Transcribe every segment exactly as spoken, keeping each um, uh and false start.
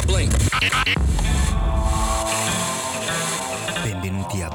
Blink. Benvenuti a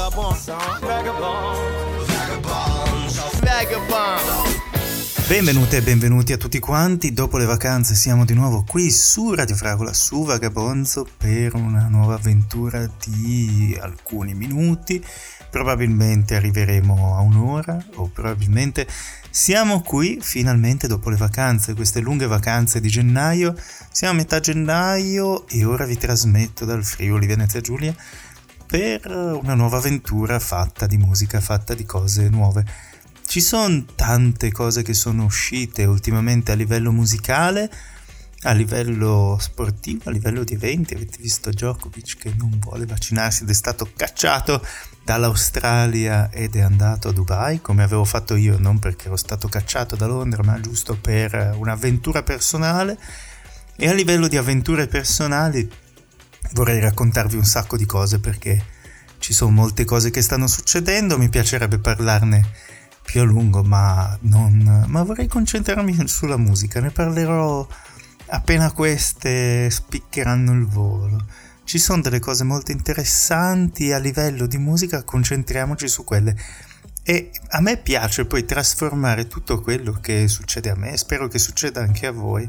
Benvenute e benvenuti a tutti quanti. Dopo le vacanze siamo di nuovo qui su Radio Fragola, su Vagabonzo, per una nuova avventura di alcuni minuti. Probabilmente arriveremo a un'ora, o probabilmente siamo qui finalmente dopo le vacanze, queste lunghe vacanze di gennaio. Siamo a metà gennaio e ora vi trasmetto dal Friuli Venezia Giulia per una nuova avventura fatta di musica, fatta di cose nuove. Ci sono tante cose che sono uscite ultimamente a livello musicale, a livello sportivo, a livello di eventi. Avete visto Djokovic che non vuole vaccinarsi ed è stato cacciato dall'Australia ed è andato a Dubai, come avevo fatto io, non perché ero stato cacciato da Londra, ma giusto per un'avventura personale. E a livello di avventure personali vorrei raccontarvi un sacco di cose, perché ci sono molte cose che stanno succedendo. Mi piacerebbe parlarne più a lungo, ma non ma vorrei concentrarmi sulla musica. Ne parlerò appena queste spiccheranno il volo. Ci sono delle cose molto interessanti a livello di musica, concentriamoci su quelle. E a me piace poi trasformare tutto quello che succede a me, spero che succeda anche a voi,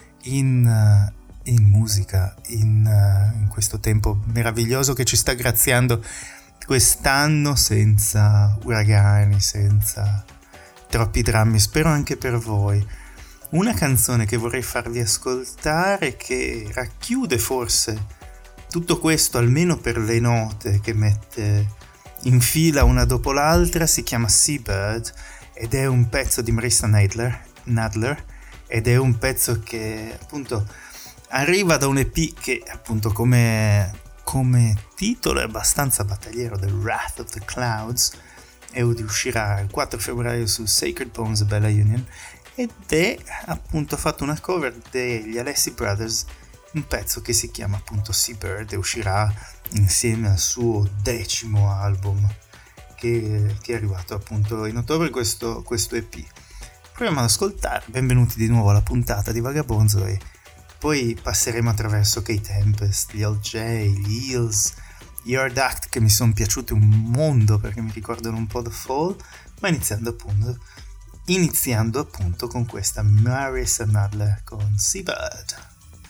in, in musica, in, in questo tempo meraviglioso che ci sta graziando quest'anno, senza uragani, senza troppi drammi. Spero anche per voi. Una canzone che vorrei farvi ascoltare, che racchiude forse tutto questo, almeno per le note che mette in fila una dopo l'altra, si chiama Seabird ed è un pezzo di Marissa Nadler, Nadler ed è un pezzo che appunto arriva da un E P che appunto come come titolo è abbastanza battagliero, The Wrath of the Clouds, e uscirà il quattro febbraio su Sacred Bones e Bella Union, ed è appunto fatto una cover degli Alessi Brothers, un pezzo che si chiama appunto Seabird e uscirà insieme al suo decimo album che, che è arrivato appunto in ottobre, questo, questo E P. Proviamo ad ascoltare. Benvenuti di nuovo alla puntata di Vagabonzo e poi passeremo attraverso Kate Tempest, gli L J, gli Eels, gli Hard Act, che mi sono piaciuti un mondo perché mi ricordano un po' The Fall, ma iniziando appunto iniziando appunto con questa Marissa Nadler con Seabird.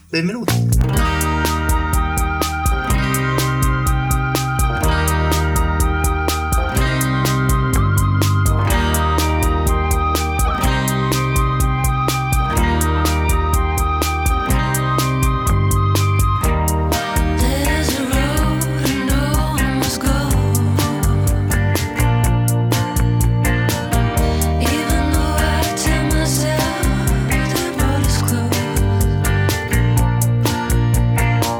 Benvenuti! Myself, the road is closed.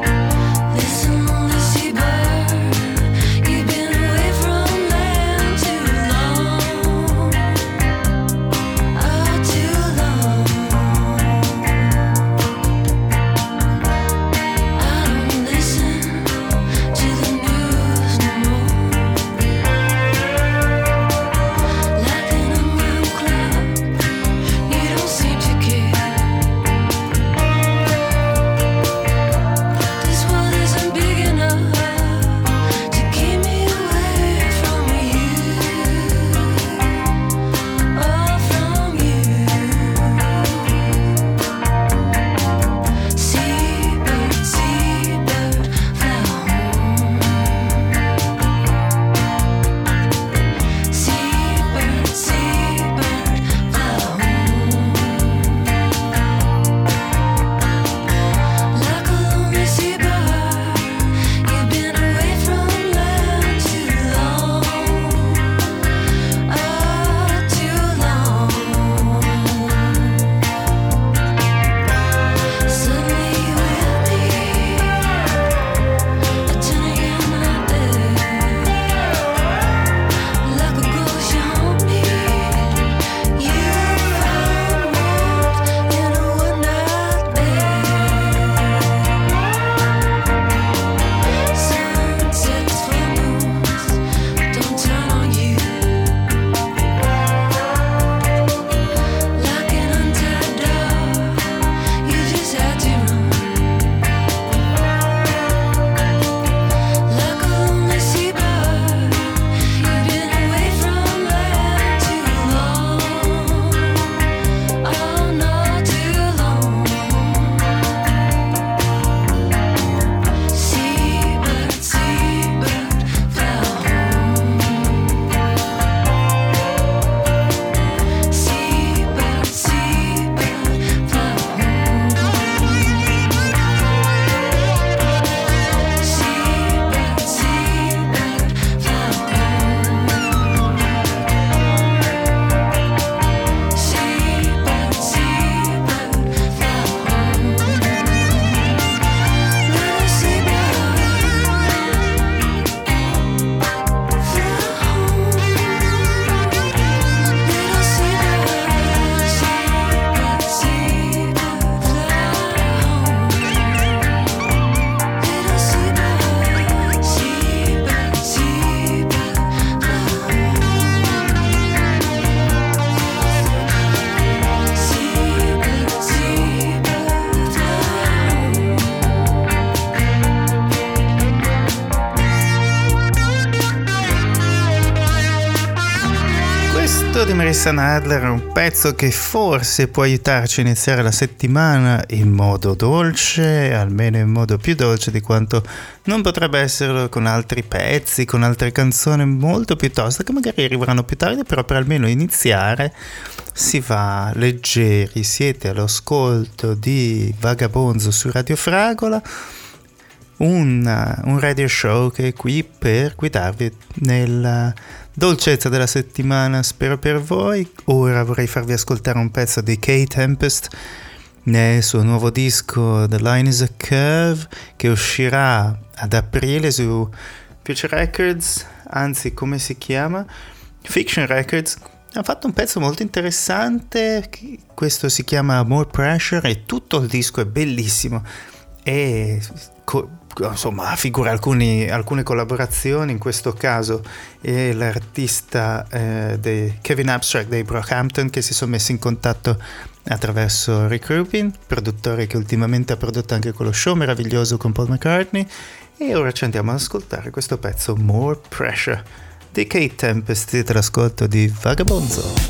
ascolto di Marissa Nadler, un pezzo che forse può aiutarci a iniziare la settimana in modo dolce, almeno in modo più dolce di quanto non potrebbe esserlo con altri pezzi, con altre canzoni molto più toste che magari arriveranno più tardi, però per almeno iniziare si va leggeri. Siete all'ascolto di Vagabonzo su Radio Fragola, un, un radio show che è qui per guidarvi nella dolcezza della settimana, spero per voi. Ora vorrei farvi ascoltare un pezzo di Kae Tempest nel suo nuovo disco The Line is a Curve, che uscirà ad aprile su Future Records, anzi come si chiama? Fiction Records. Ha fatto un pezzo molto interessante, questo si chiama More Pressure e tutto il disco è bellissimo e co- insomma figura alcuni, alcune collaborazioni. In questo caso è l'artista eh, dei Kevin Abstract dei Brockhampton, che si sono messi in contatto attraverso Rick Rubin, produttore che ultimamente ha prodotto anche quello show meraviglioso con Paul McCartney, e ora ci andiamo ad ascoltare questo pezzo More Pressure di Kae Tempest. Siete all'ascolto di Vagabonzo.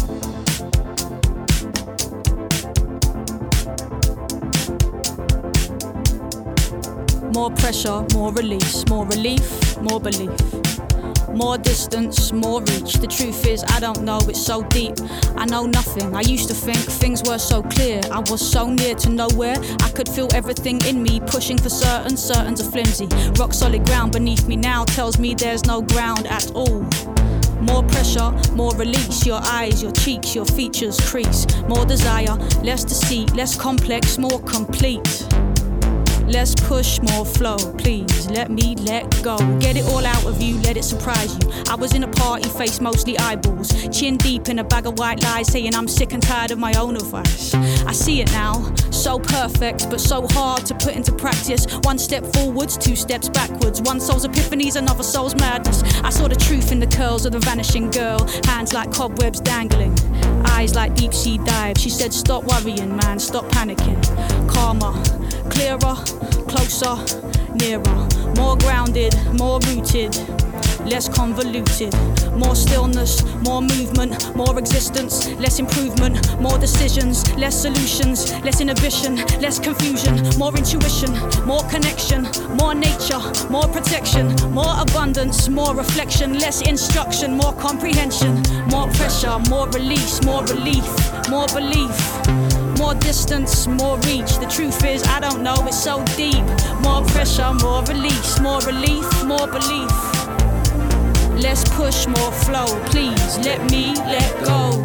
More pressure, more release, more relief, more belief. More distance, more reach. The truth is, I don't know, it's so deep. I know nothing. I used to think things were so clear. I was so near to nowhere. I could feel everything in me pushing for certain. Certains are flimsy. Rock solid ground beneath me now tells me there's no ground at all. More pressure, more release. Your eyes, your cheeks, your features crease. More desire, less deceit, less complex, more complete. Less push, more flow, please let me let go. Get it all out of you, let it surprise you. I was in a party, face mostly eyeballs, chin deep in a bag of white lies, saying I'm sick and tired of my own advice. I see it now, so perfect, but so hard to put into practice. One step forwards, two steps backwards. One soul's epiphanies, another soul's madness. I saw the truth in the curls of the vanishing girl. Hands like cobwebs dangling, eyes like deep sea dives. She said stop worrying, man, stop panicking. Calmer, clearer, closer, nearer. More grounded, more rooted, less convoluted. More stillness, more movement, more existence, less improvement. More decisions, less solutions, less inhibition, less confusion. More intuition, more connection, more nature, more protection. More abundance, more reflection, less instruction, more comprehension. More pressure, more release, more relief, more belief. More distance, more reach. The truth is, I don't know, it's so deep. More pressure, more release, more relief, more belief. Less push, more flow. Please let me let go.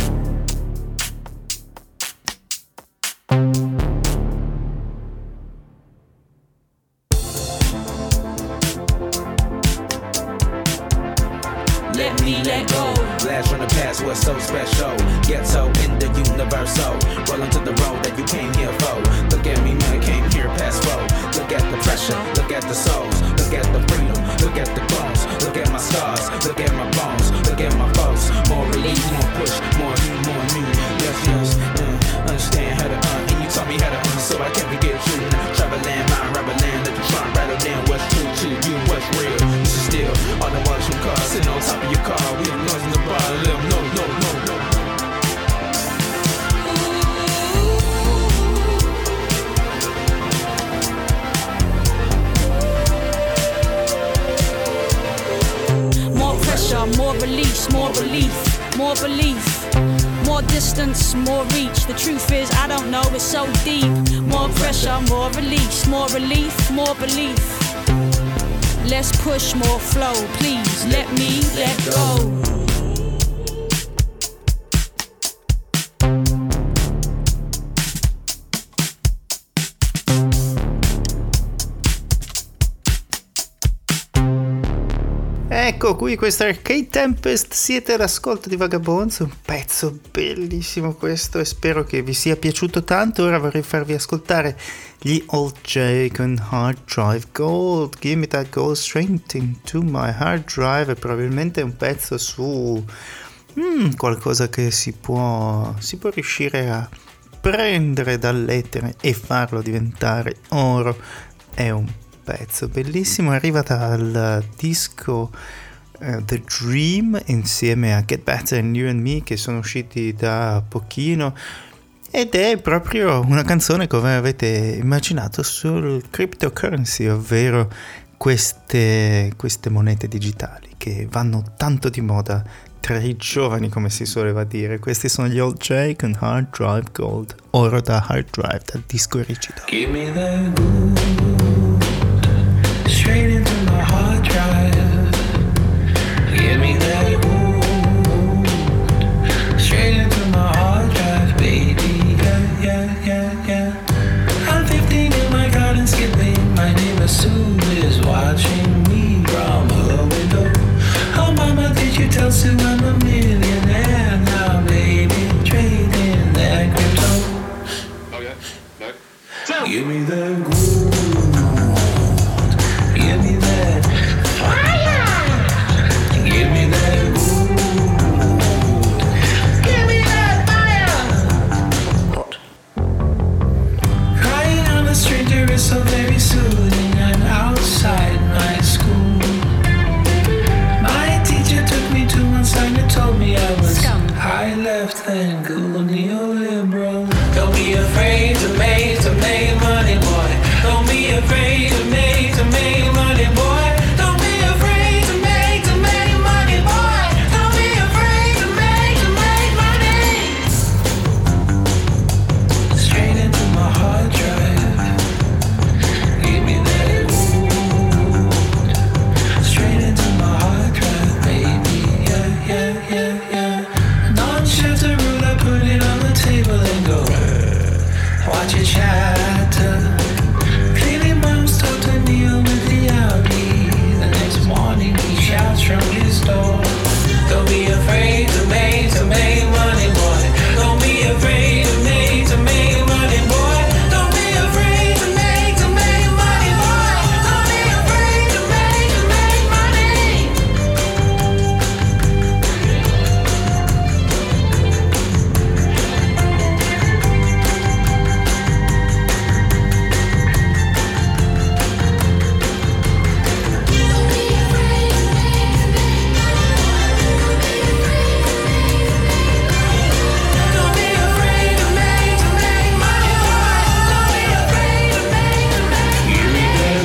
Let me let go. Blast from the past was so special. Ghetto in the universal. Rolling to the road that you came here for. Look at me, man, came here past road. Look at the pressure, look at the souls. Look at the freedom, look at the bones. Look at my scars, look at my bones. Look at my foes. More relief, more push, more you, more new. Yes, yes, uh, understand how to uh. And you taught me how to uh, so I can't forget you. Travel land, mind, rubber land. Let you try and rattle down what's true to you, what's real. This is still all the ones from cars sitting on top of your car. We have noise in the bar, let them know, no, no, no. More pressure, more release, more relief, more belief. More distance, more reach. The truth is, I don't know, it's so deep. More pressure, more release, more relief, more belief. Less push, more flow. Please let me let go. Ecco qui, questa è Kae Tempest, siete all'ascolto di Vagabonzo, un pezzo bellissimo questo e spero che vi sia piaciuto tanto. Ora vorrei farvi ascoltare gli Old J con Hard Drive Gold. Give me that gold straight into my hard drive. E probabilmente è un pezzo su mm, qualcosa che si può, si può riuscire a prendere dall'etere e farlo diventare oro. È un pezzo bellissimo, arriva dal disco uh, The Dream insieme a Get Better and You and Me, che sono usciti da pochino, ed è proprio una canzone come avete immaginato sul cryptocurrency, ovvero queste, queste monete digitali che vanno tanto di moda tra i giovani, come si soleva dire. Questi sono gli Old J con Hard Drive Gold, oro da hard drive, dal disco rigido. Give me that gold, straight into my hard drive. Give me that gold, straight into my hard drive, baby. Yeah, yeah, yeah, yeah. I'm fifteen in my garden skipping. My neighbor Sue is watching me from her window. Oh, mama, did you tell Sue I'm a millionaire now, baby? Trading that crypto. Oh yeah, no. Give me that gold. Give me that fire. Give me that gold. Give me that fire. What? Crying on a stranger is so very soothing. I'm outside my school. My teacher took me to one side and told me I was Scum. high left and cool neoliberal. Don't be afraid to make to make money, boy. Don't be afraid to make to make money, boy. Don't be afraid to make to make money, boy. Don't be afraid to make to make money. Straight into my hard drive. Give me that gold. Straight into my hard drive, baby. Yeah, yeah, yeah, yeah. Non-chef the rule, I put it on the table and go. Watch it shatter. Clearly mom's told to kneel with the Audi. The next morning he shouts from his door. Don't be afraid to make, to make money, boy. Don't be afraid to make, to make money, boy. Don't be afraid to make, to make money, boy. Don't be afraid to make, to make money. Don't be afraid to make, to make money, boy. Don't be afraid to make, to make. Give me that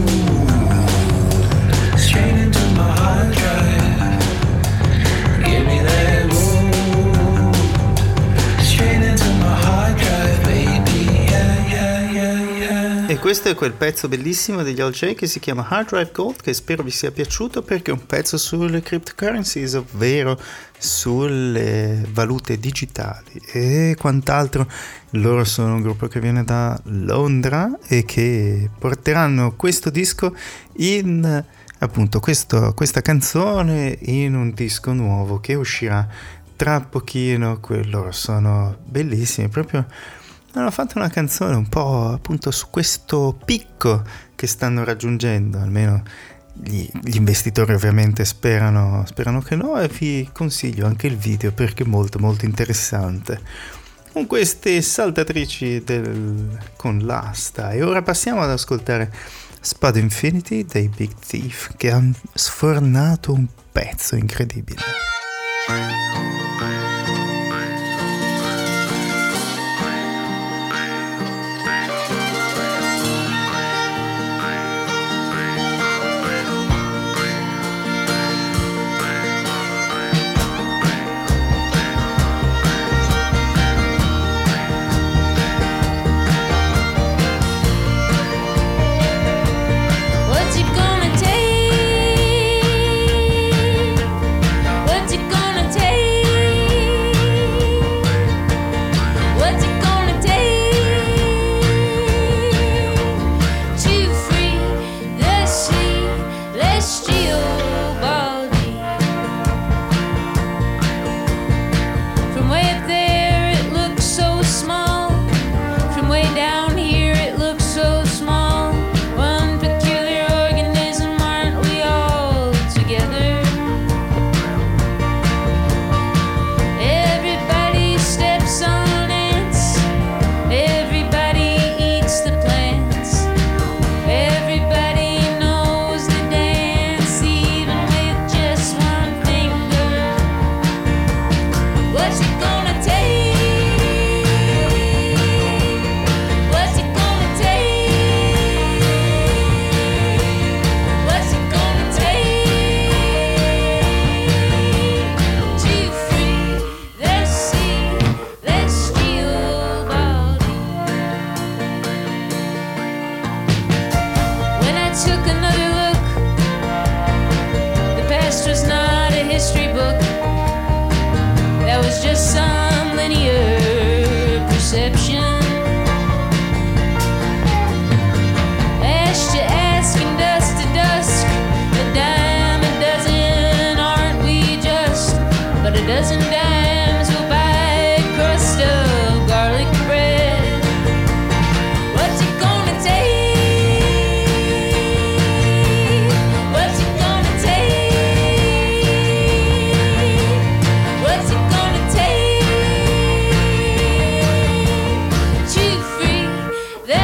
gold, straight into my hard drive. Give me that gold, straight into my hard drive, baby. Yeah, yeah, yeah, yeah. E questo è quel pezzo bellissimo degli Old J che si chiama Hard Drive Gold, che spero vi sia piaciuto perché è un pezzo sulle cryptocurrencies, ovvero sulle valute digitali e quant'altro. Loro sono un gruppo che viene da Londra e che porteranno questo disco in, appunto, questo, questa canzone in un disco nuovo che uscirà tra pochino. Loro sono bellissimi, proprio hanno fatto una canzone un po' appunto su questo picco che stanno raggiungendo, almeno gli, gli investitori ovviamente sperano, sperano che no, e vi consiglio anche il video perché è molto molto interessante, con queste saltatrici del, con l'asta. E ora passiamo ad ascoltare Spud Infinity dei Big Thief, che hanno sfornato un pezzo incredibile. What's it gonna take? What's it gonna take?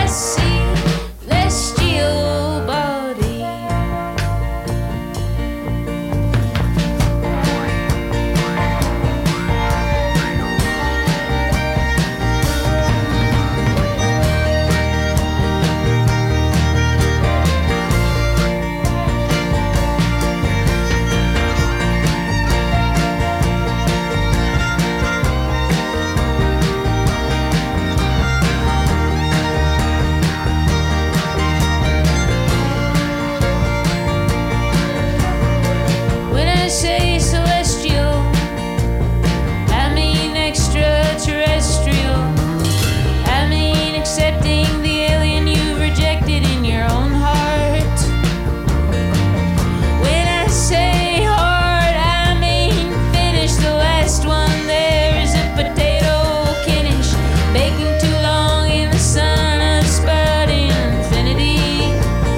celestial body. When I say celestial, I mean extraterrestrial. I mean accepting the alien you've rejected in your own heart. When I say hard, I mean finish the last one. There is a potato kinish baking too long in the sun of spud infinity.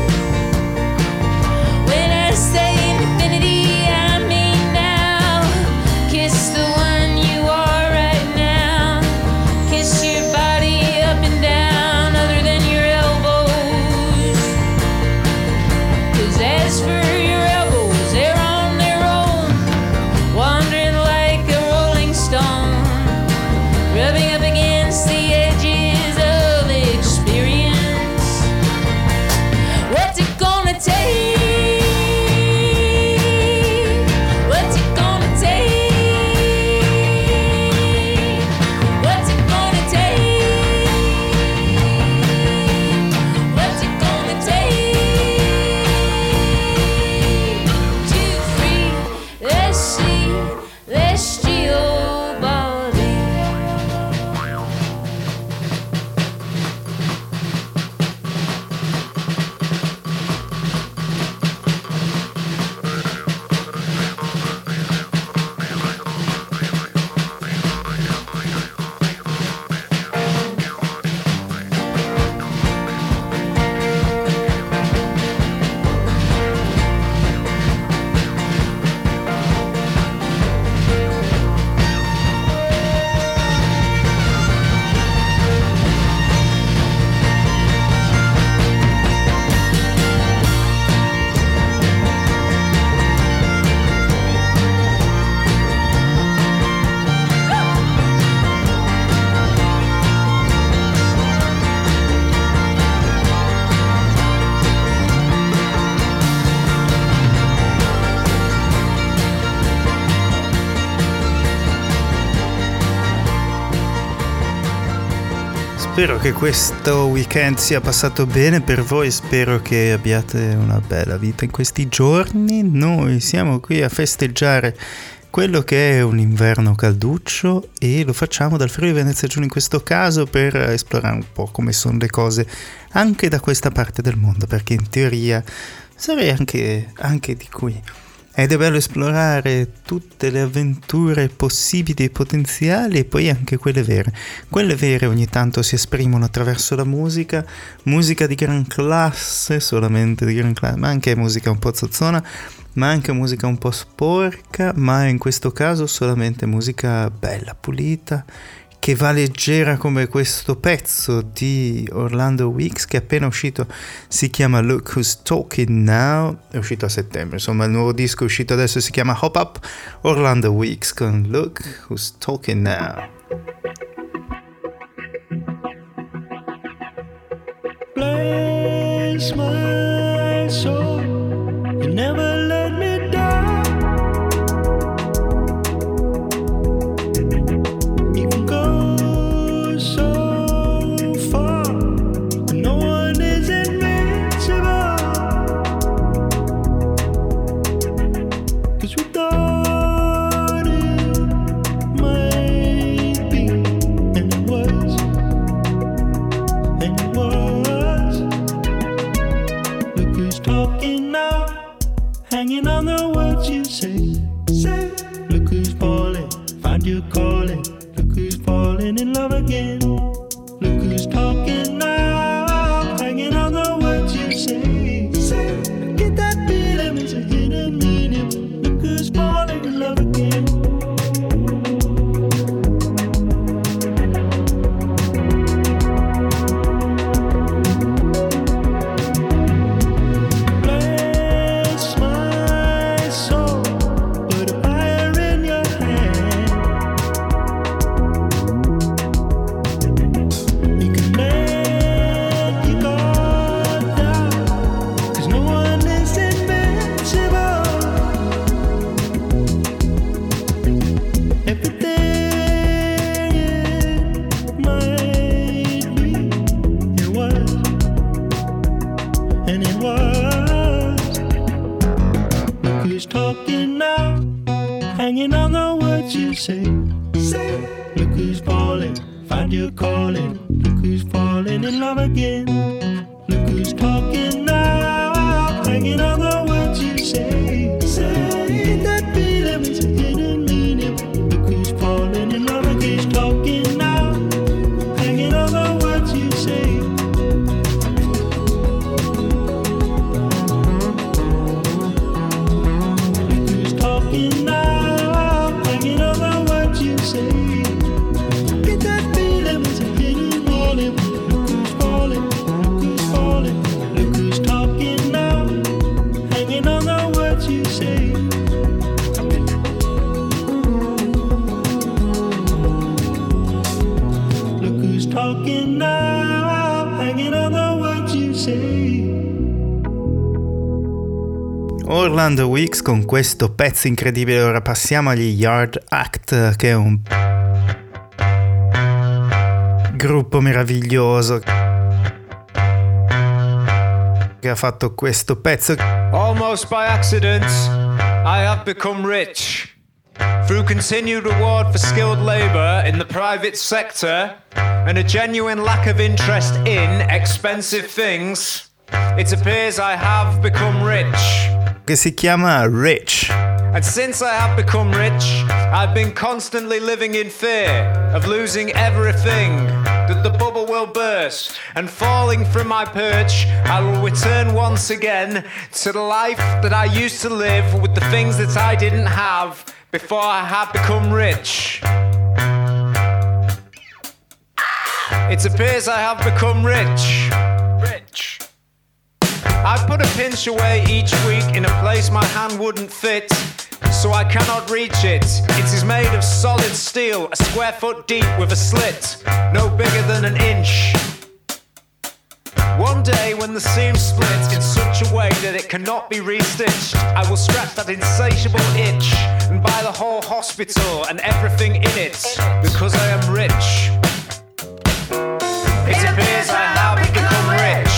When I say infinity, I mean now. Kiss the one you are right now. Kiss your body up and down, other than your elbows. 'Cause as for your elbows, they're on their own, wandering like a rolling stone, rubbing up against the edges of experience. What's it gonna take? What's it gonna take? What's it gonna take? What's it gonna take to free the celestial body? Spero che questo weekend sia passato bene per voi, spero che abbiate una bella vita in questi giorni. Noi siamo qui a festeggiare quello che è un inverno calduccio e lo facciamo dal Friuli Venezia Giulia in questo caso per esplorare un po' come sono le cose anche da questa parte del mondo, perché in teoria sarei anche, anche di qui. Ed è bello esplorare tutte le avventure possibili e potenziali e poi anche quelle vere. Quelle vere ogni tanto si esprimono attraverso la musica, musica di gran classe, solamente di gran classe, ma anche musica un po' zozzona, ma anche musica un po' sporca, ma in questo caso solamente musica bella, pulita, che va leggera come questo pezzo di Orlando Weeks che è appena uscito, si chiama Look Who's Talking Now, è uscito a settembre, insomma il nuovo disco è uscito adesso, si chiama Hop Up, Orlando Weeks con Look Who's Talking Now. Bless my soul, you never let me down. You can go so far, but no one is invincible. 'Cause we thought it might be, and it was, and it was. Look who's talking now, hanging on the words you say. Say, look who's falling, find your calling. Look who's falling in love again. Look who's talking now, hanging on the words you say. Say, get that feeling, it's a hidden meaning. Look who's falling in love again. and it was. Look who's talking now, hanging on the words you say. Say, look who's falling, find your calling. Look who's falling in love again. Look who's talking now, hanging on the words you say. Say, that feeling with a hidden meaning. Look who's falling in love again. Who's talking now, hanging on the words you say. Look who's talking now, hanging on the words you say. Get that feeling with a hidden warning. Look who's falling, look who's falling. Look who's talking now, hanging on the words you say. Look who's talking now, hanging on the words you say. Orlando Weeks con questo pezzo incredibile. Ora passiamo agli Yard Act, che è un gruppo meraviglioso che ha fatto questo pezzo. Almost by accident, I have become rich. Through continued reward for skilled labour in the private sector and a genuine lack of interest in expensive things, it appears I have become rich. Che si chiama Rich. And since I have become rich, I've been constantly living in fear of losing everything, that the bubble will burst, and falling from my perch, I will return once again to the life that I used to live with the things that I didn't have before I had become rich. It appears I have become rich. Rich. I put a pinch away each week in a place my hand wouldn't fit, so I cannot reach it. It is made of solid steel, a square foot deep with a slit, no bigger than an inch. One day when the seam splits in such a way that it cannot be restitched, I will scratch that insatiable itch and buy the whole hospital and everything in it, because I am rich. It appears I have become rich.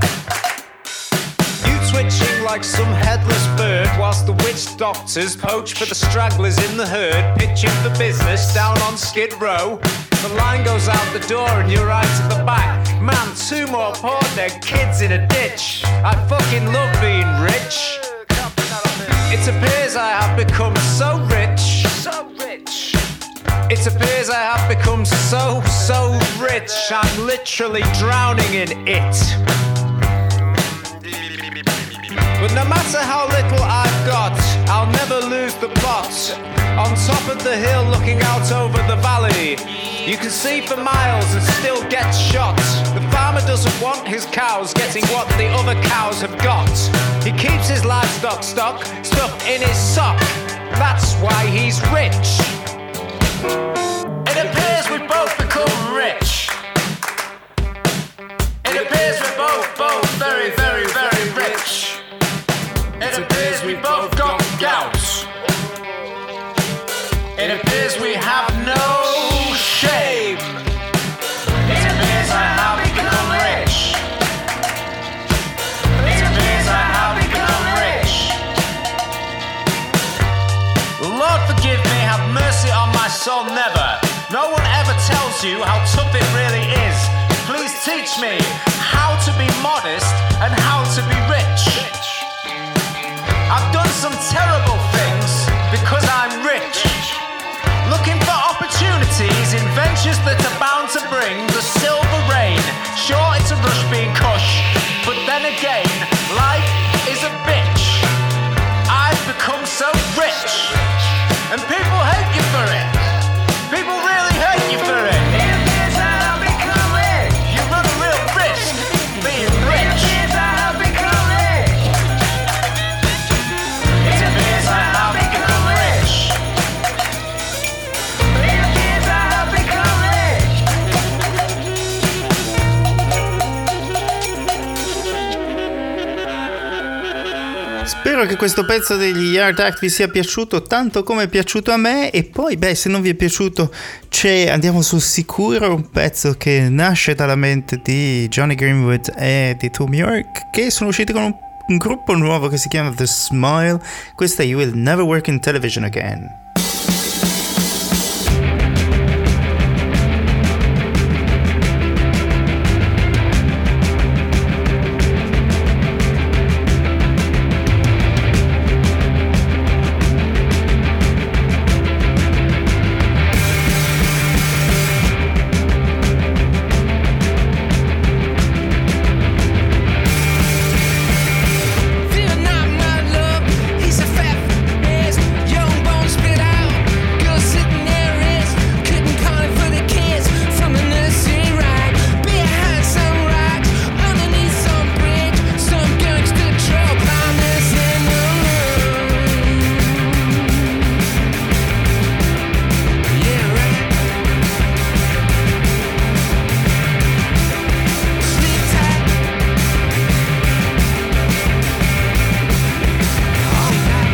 Twitching like some headless bird, whilst the witch doctors poach for the stragglers in the herd, pitching for business down on Skid Row. The line goes out the door and you're right at the back. Man, two more poor dead kids in a ditch. I fucking love being rich. It appears I have become so rich. So rich. It appears I have become so, so rich. I'm literally drowning in it. But no matter how little I've got, I'll never lose the plot. On top of the hill looking out over the valley, you can see for miles and still get shot. The farmer doesn't want his cows getting what the other cows have got. He keeps his livestock stock stuffed in his sock. That's why he's rich. It appears we've both become rich. It appears we're both, both very, very, very rich. It appears we both got gout. It appears we have no shame. It appears I have become rich. It appears I have become rich. Lord forgive me, have mercy on my soul, never. No one ever tells you how tough it really is. Please teach me how to be modest and how to be rich. I've done some terrible things because I'm rich. Looking for opportunities in ventures that are bound to bring the silver rain. Sure, it's a rush being cush, but then again, life is a bitch. I've become so rich, and people hate you for it. People really hate you for it. You run a real risk being rich. Spero che questo pezzo degli Yard Act vi sia piaciuto tanto come è piaciuto a me, e poi beh, se non vi è piaciuto c'è, andiamo sul sicuro, un pezzo che nasce dalla mente di Johnny Greenwood e di Thom Yorke, che sono usciti con un, un gruppo nuovo che si chiama The Smile. Questa è You Will Never Work in Television Again. Young bones spit out, girls sitting there is couldn't call it for the kids from the nursery rhyme. Behind some rocks, underneath some bridge, some gangster troll blindness in the room. Yeah, right. Sleep tight. All night.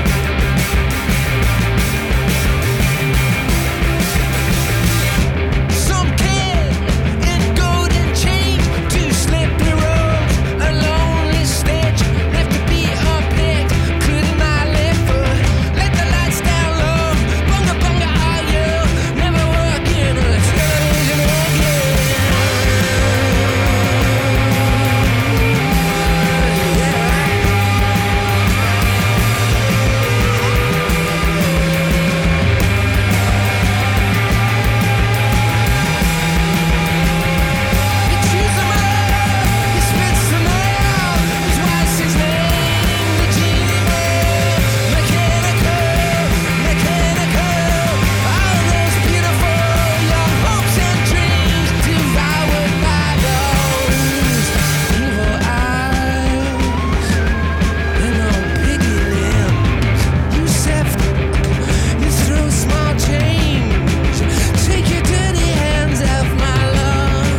Some kid in golden chains, two slippery roads, a lonely stitch, left to be unpicked, couldn't I live for? Let the lights down low, bunga bunga are you, never work in a television again. You choose them all, you spits them all, his wife's his name, the genie, mechanical, mechanical, all those beautiful young hopes and dreams devoured by those evil eyes and those piggy limbs. You sift, you throw small change, take your dirty hands off my love.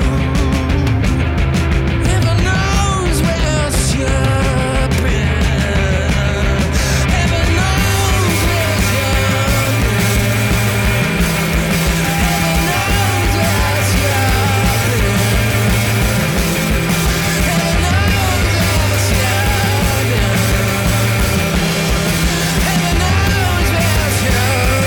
Heaven knows where else you've been. Heaven knows where else you've been. Heaven knows where else you've been. Heaven knows where else you've been. Heaven knows where else you've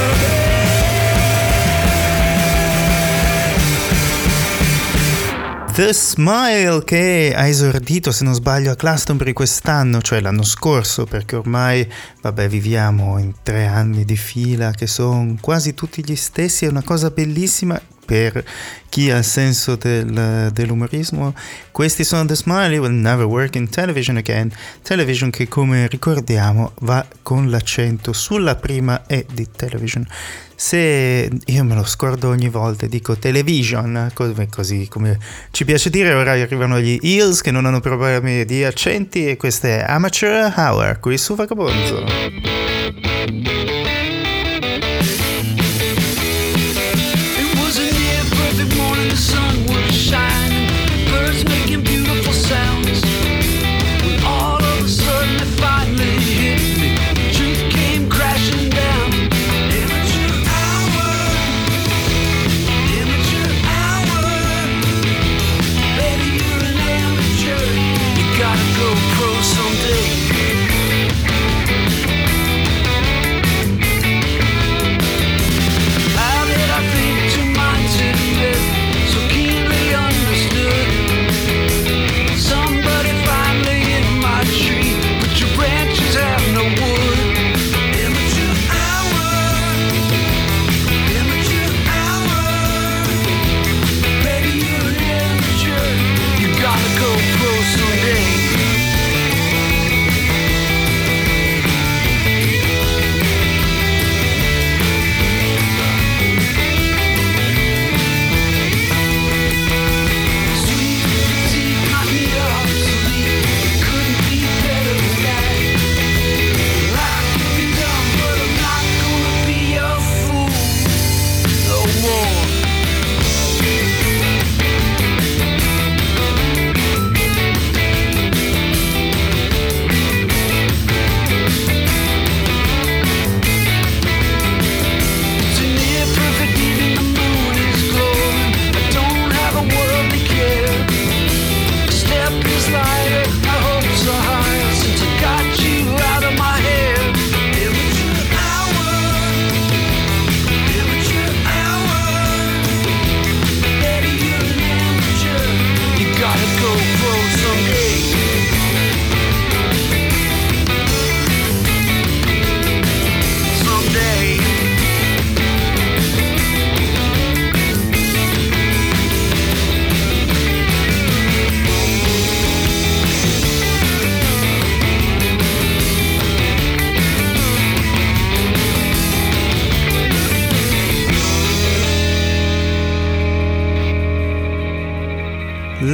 The Smile, che ha esordito, se non sbaglio, a Glastonbury quest'anno, cioè l'anno scorso, perché ormai, vabbè, viviamo in tre anni di fila che sono quasi tutti gli stessi. È una cosa bellissima per chi ha il senso del, dell'umorismo. Questi sono The Smile, You Will Never Work in Television Again. Television che, come ricordiamo, va con l'accento sulla prima E di television. Se io me lo scordo ogni volta, dico television, così come ci piace dire. Ora arrivano gli Eels che non hanno problemi di accenti, e questo è Amateur Hour qui su Vagabonzo. It was a near perfect morning, the sun was shining, birds making beautiful sounds. When all of a sudden it finally hit me, truth came crashing down. Amateur hour, amateur hour, baby you're an amateur, you gotta go pro someday.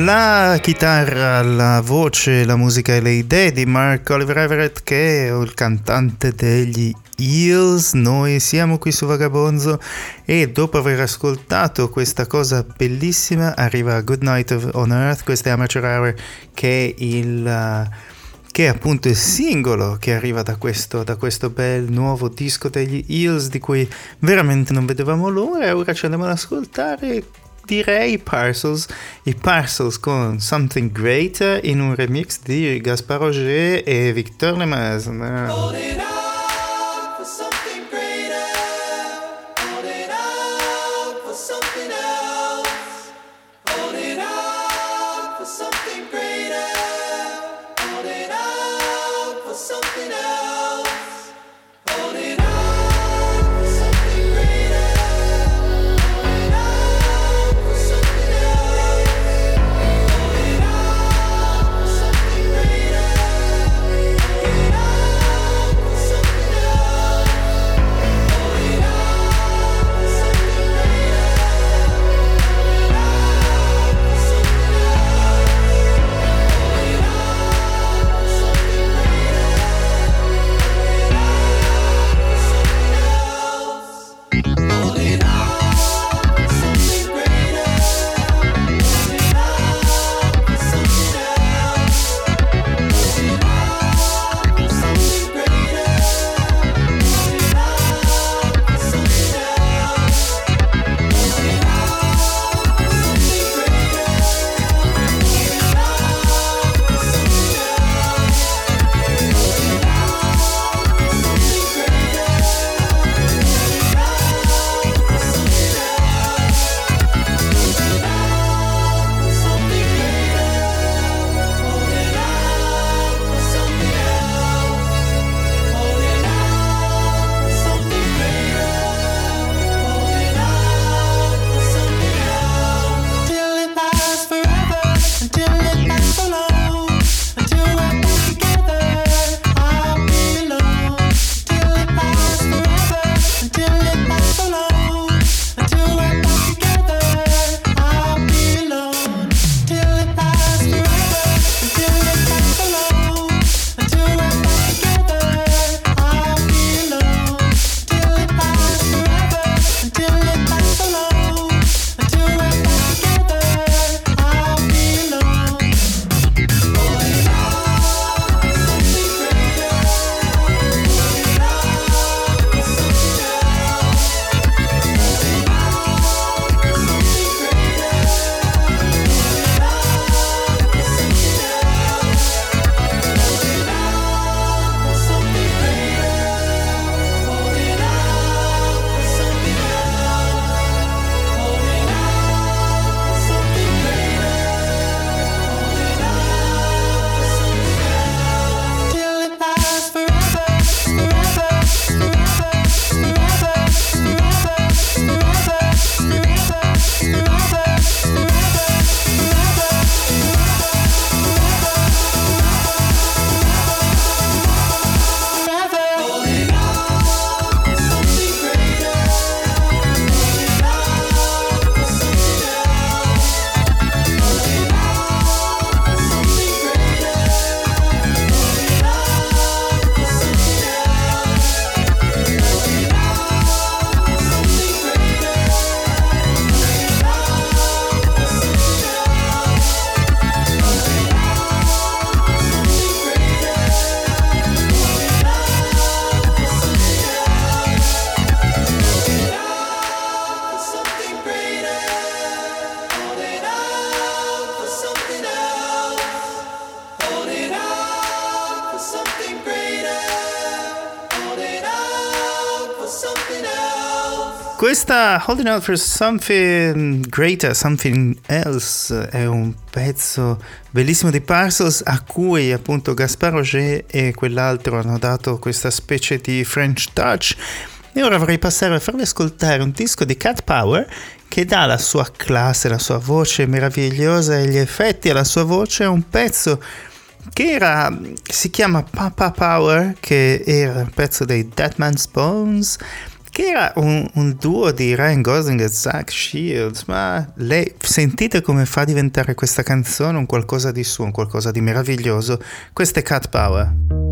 La chitarra, la voce, la musica e le idee di Mark Oliver Everett, che è il cantante degli Eels. Noi siamo qui su Vagabonzo e dopo aver ascoltato questa cosa bellissima arriva Good Night on Earth. Questa è Amateur Hour, che è il... che è appunto il singolo che arriva da questo, da questo bel nuovo disco degli Eels, di cui veramente non vedevamo l'ora. E ora ci andiamo ad ascoltare, direi, i Parcels, i Parcels con Something Greater in un remix di Gaspard Roger e Victor Lemaisne. Questa Holding Out for Something Greater, Something Else è un pezzo bellissimo di Parcels, a cui appunto Gaspard Roger e quell'altro hanno dato questa specie di French touch. E ora vorrei passare a farvi ascoltare un disco di Cat Power, che dà la sua classe, la sua voce meravigliosa e gli effetti alla sua voce a un pezzo che era, si chiama Papa Power, che era un pezzo dei Dead Man's Bones, che era un, un duo di Ryan Gosling e Zach Shields, ma lei, sentite come fa diventare questa canzone un qualcosa di suo, un qualcosa di meraviglioso. Questo è Cat Power.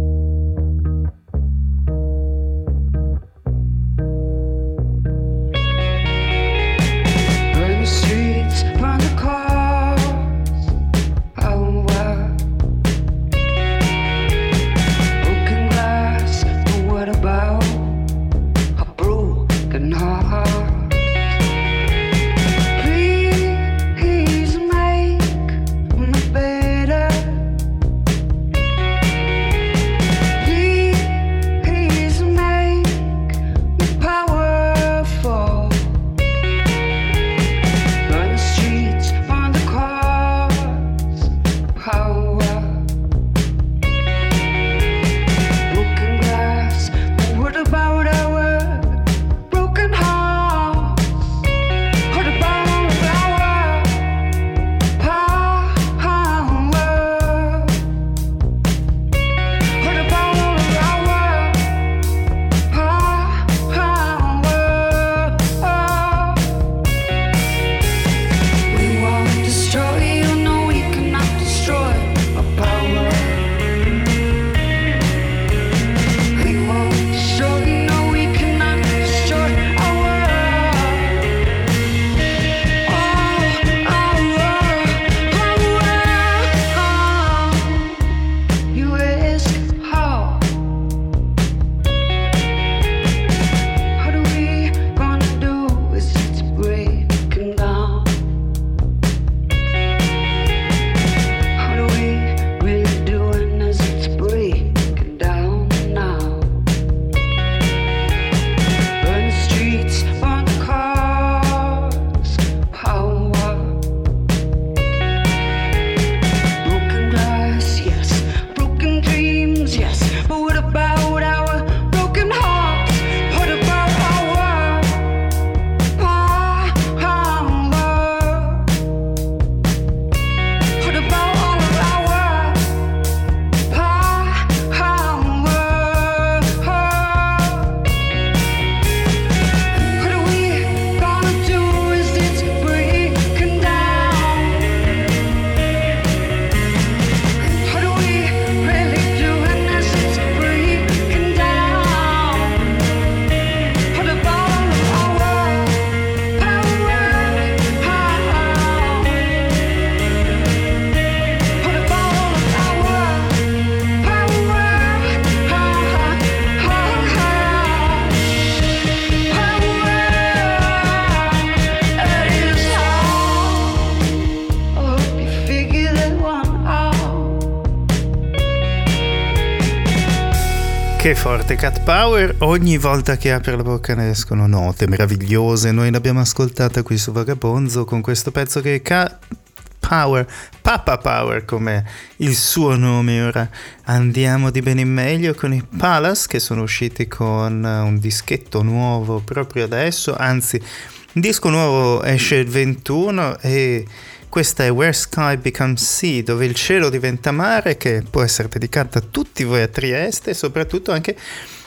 Che forte Cat Power, ogni volta che apre la bocca ne escono note meravigliose. Noi l'abbiamo ascoltata qui su Vagabonzo con questo pezzo che è Cat Power, Papa Power come il suo nome. Ora andiamo di bene in meglio con i Palace, che sono usciti con un dischetto nuovo proprio adesso, anzi un disco nuovo esce il ventuno e questa è Where Sky Becomes Sea, dove il cielo diventa mare, che può essere dedicata a tutti voi a Trieste e soprattutto anche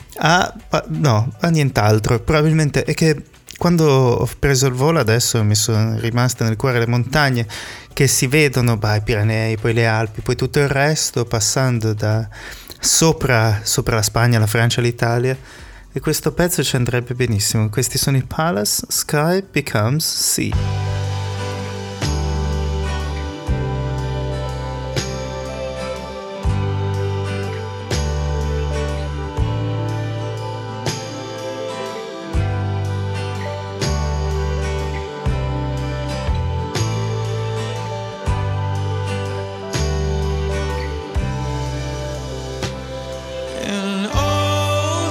a, a no, a nient'altro. Probabilmente è che quando ho preso il volo adesso mi sono rimaste nel cuore le montagne che si vedono, bah, i Pirenei, poi le Alpi, poi tutto il resto, passando da sopra, sopra la Spagna, la Francia, l'Italia, e questo pezzo ci andrebbe benissimo. Questi sono i Palace, Sky Becomes Sea.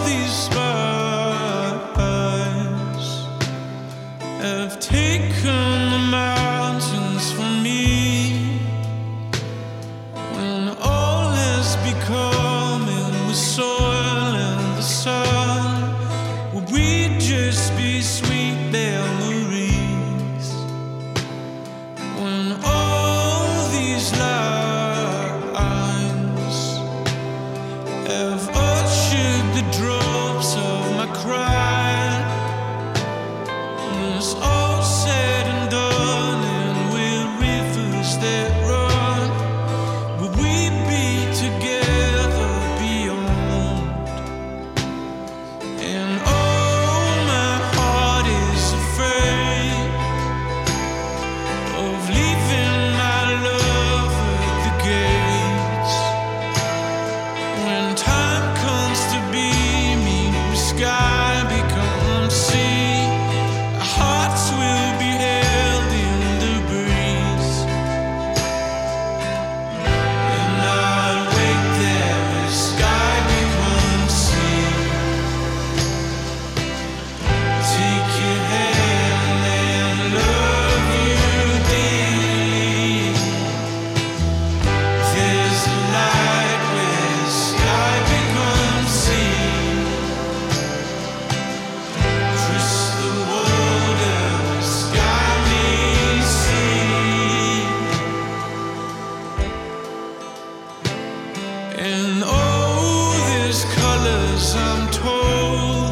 Have taken And oh, there's colors, I'm told,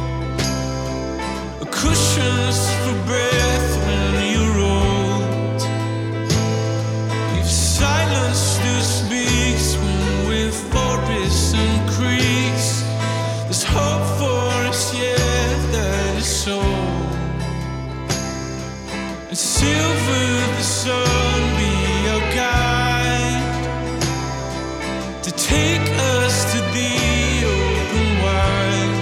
cushions for breath when you're old. If silence still speaks when we're forests and creeks, there's hope for us yet, that is so. And silver the sun be our guide to take us to the open wide.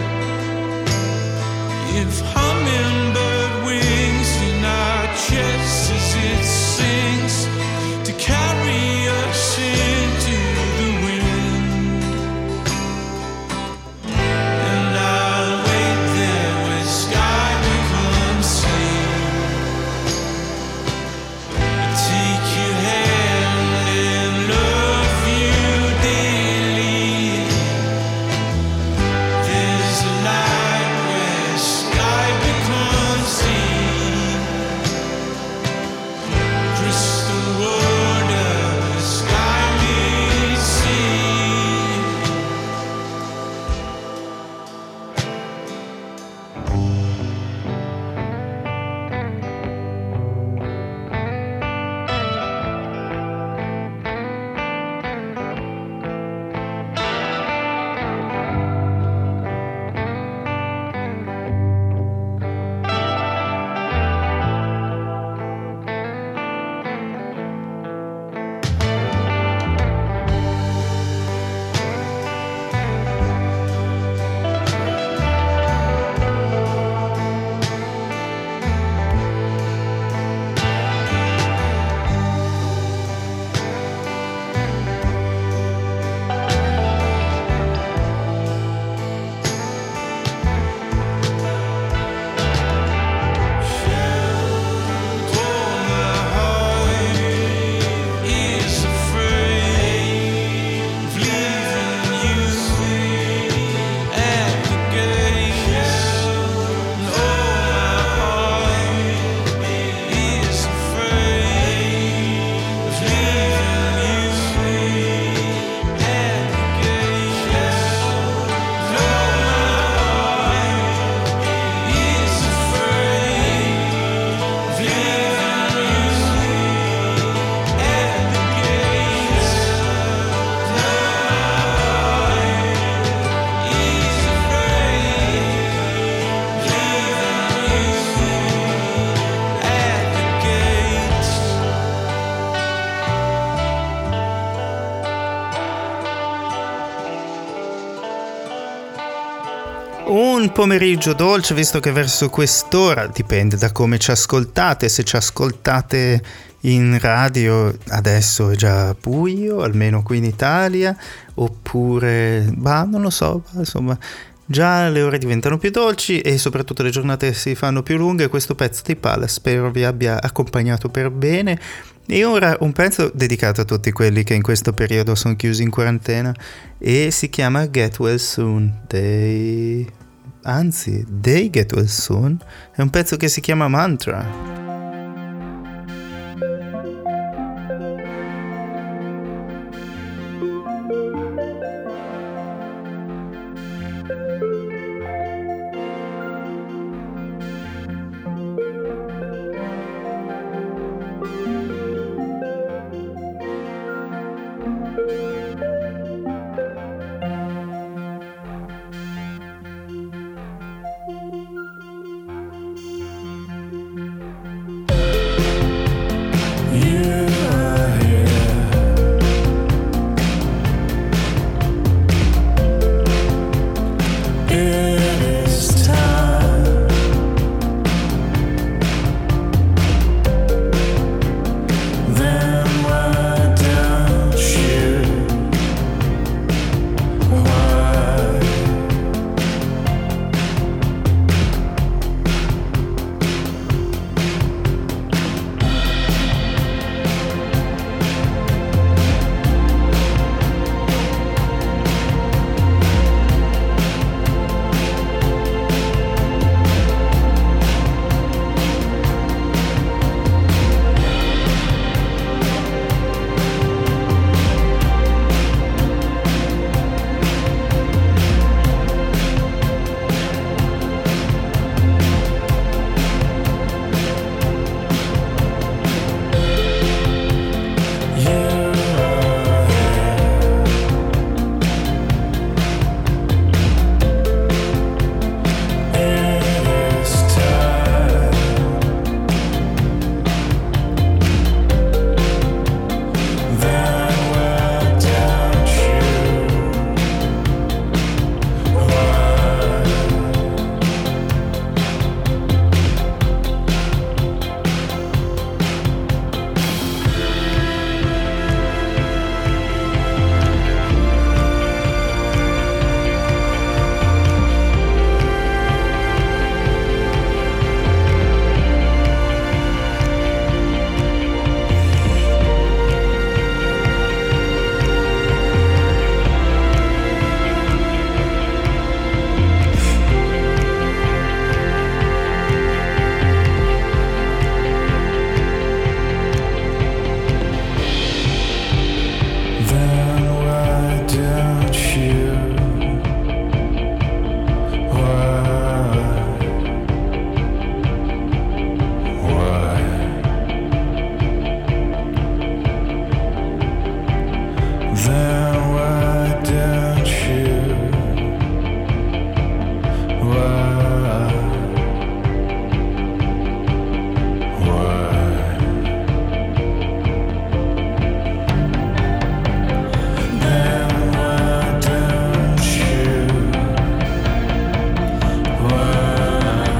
If hummingbird wings in our chests as it sings to carry us into the wind, and I'll wait there where sky becomes sea. Take your hand and love you daily. There's a night where sky becomes sea. Crystal water, sky meets sea. Un pomeriggio dolce, visto che verso quest'ora, dipende da come ci ascoltate, se ci ascoltate in radio adesso è già buio, almeno qui in Italia, oppure, bah, non lo so, insomma, già le ore diventano più dolci e soprattutto le giornate si fanno più lunghe. Questo pezzo di Palace spero vi abbia accompagnato per bene. E ora un pezzo dedicato a tutti quelli che in questo periodo sono chiusi in quarantena e si chiama Get Well Soon. They... Anzi, They Get Well Soon è un pezzo che si chiama Mantra. Then why don't you? Why? Why? Then why don't you? Why?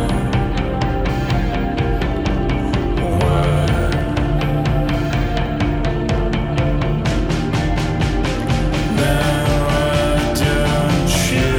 Why? Then why don't you?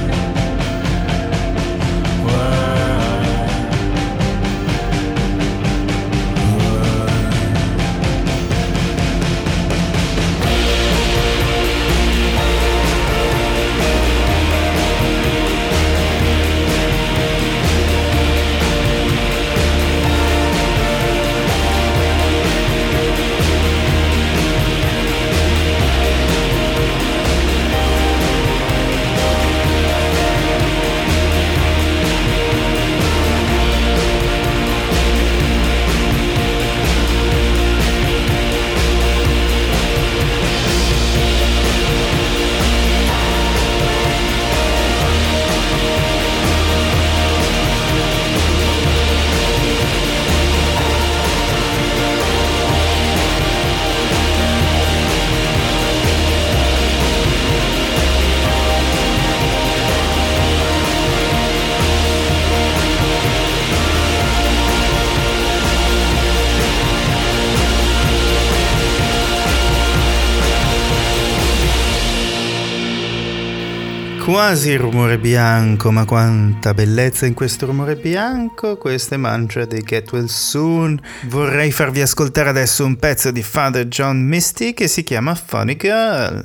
Quasi rumore bianco, ma quanta bellezza in questo rumore bianco. Questa è Mantra dei Get Well Soon. Vorrei farvi ascoltare adesso un pezzo di Father John Misty che si chiama Funny Girl.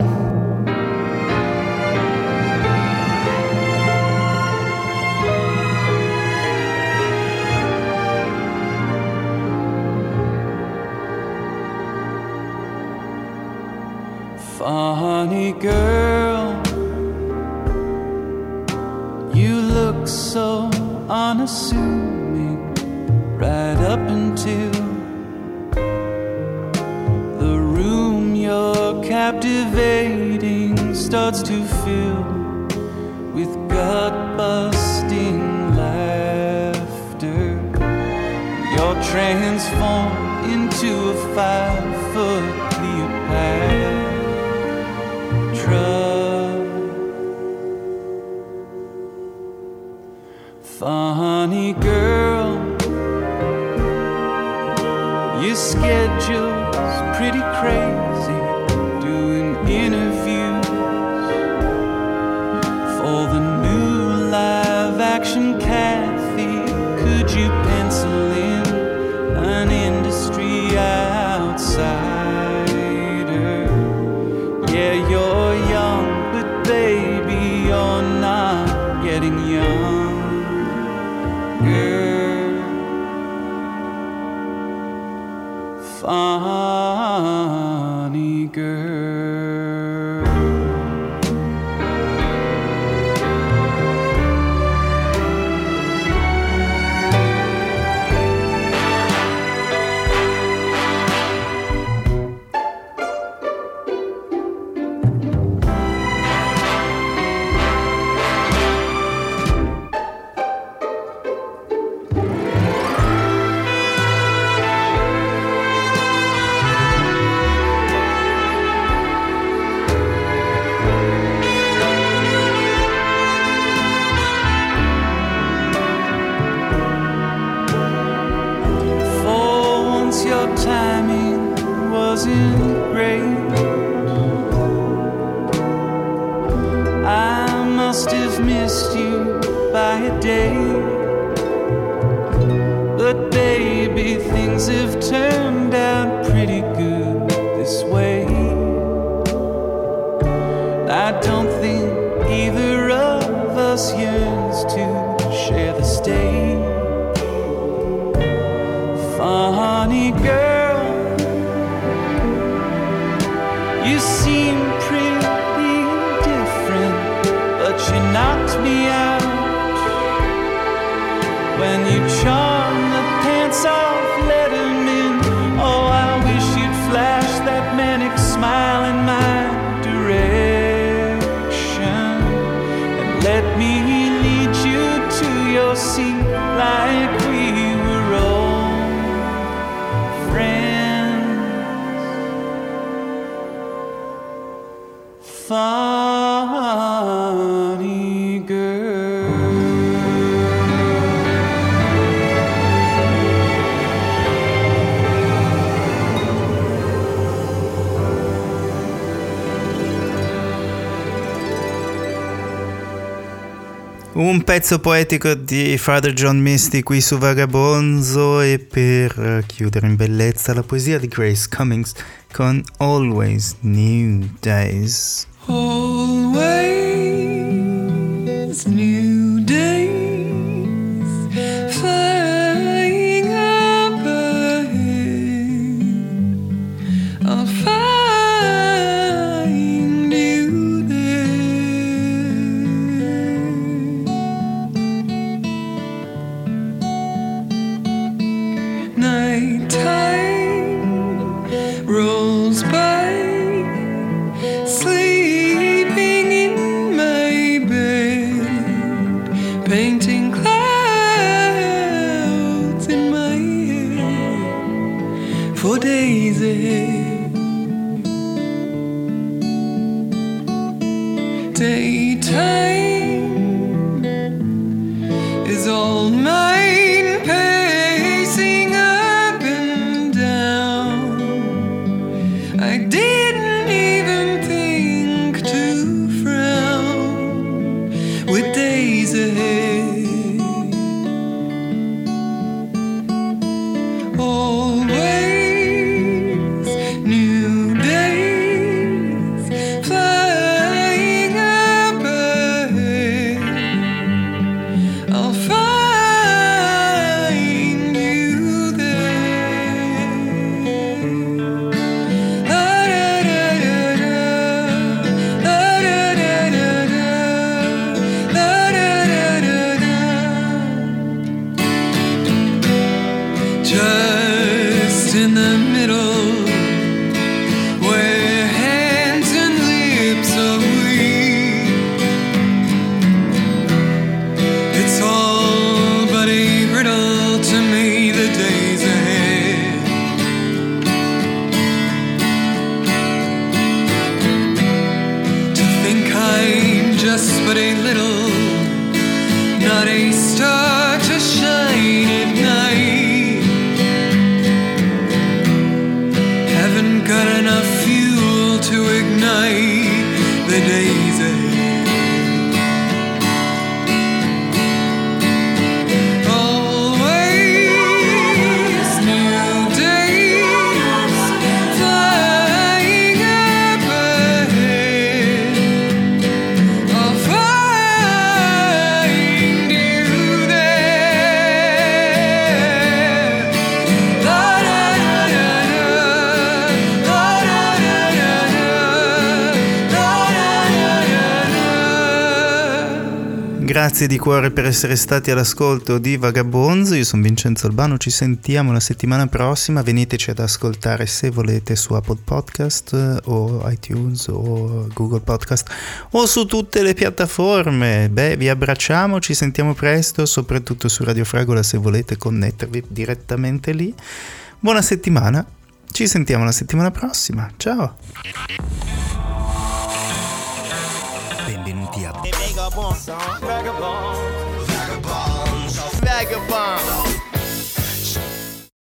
Funny girl, you look so unassuming right up until the room you're captivating starts to fill with gut-busting laughter. You're transformed into a five-foot Cleopatra. Funny girl, your schedule's pretty crazy, doing interviews for the new live-action Kathy. Could you pencil in an industry outsider? Yeah, you're young, but baby, you're not getting young. Girl, funny girl. funny girl. Un pezzo poetico di Father John Misty qui su Vagabonzo, e per chiudere in bellezza la poesia di Grace Cummings con Always New Days. Always new days, flying up ahead. I'll find you there. Nighttime rolls by, sleeping in my bed, painting clouds in my head for days ahead. Daytime is all mine, pacing up and down. I didn't even think to frown with days ahead. Always new days, flying up ahead. I'll find you there. La da da da da, la da da da da, la da da da da. Just in the middle, where hands and lips are weak, it's all but a riddle to me, the days ahead. To think I'm just but a little, not a star to shine at night. Haven't got enough fuel to ignite the days ahead. Always new days, flying up ahead. I'll find you there. La da da da da, la da da da da, la da da da da. Grazie di cuore per essere stati all'ascolto di Vagabonzo. Io sono Vincenzo Albano, ci sentiamo la settimana prossima. Veniteci ad ascoltare se volete su Apple Podcast o iTunes o Google Podcast o su tutte le piattaforme. Beh, vi abbracciamo, ci sentiamo presto, soprattutto su Radio Fragola se volete connettervi direttamente lì. Buona settimana, ci sentiamo la settimana prossima. Ciao. Benvenuti a Vagabonds. Vagabonds. Vagabonds.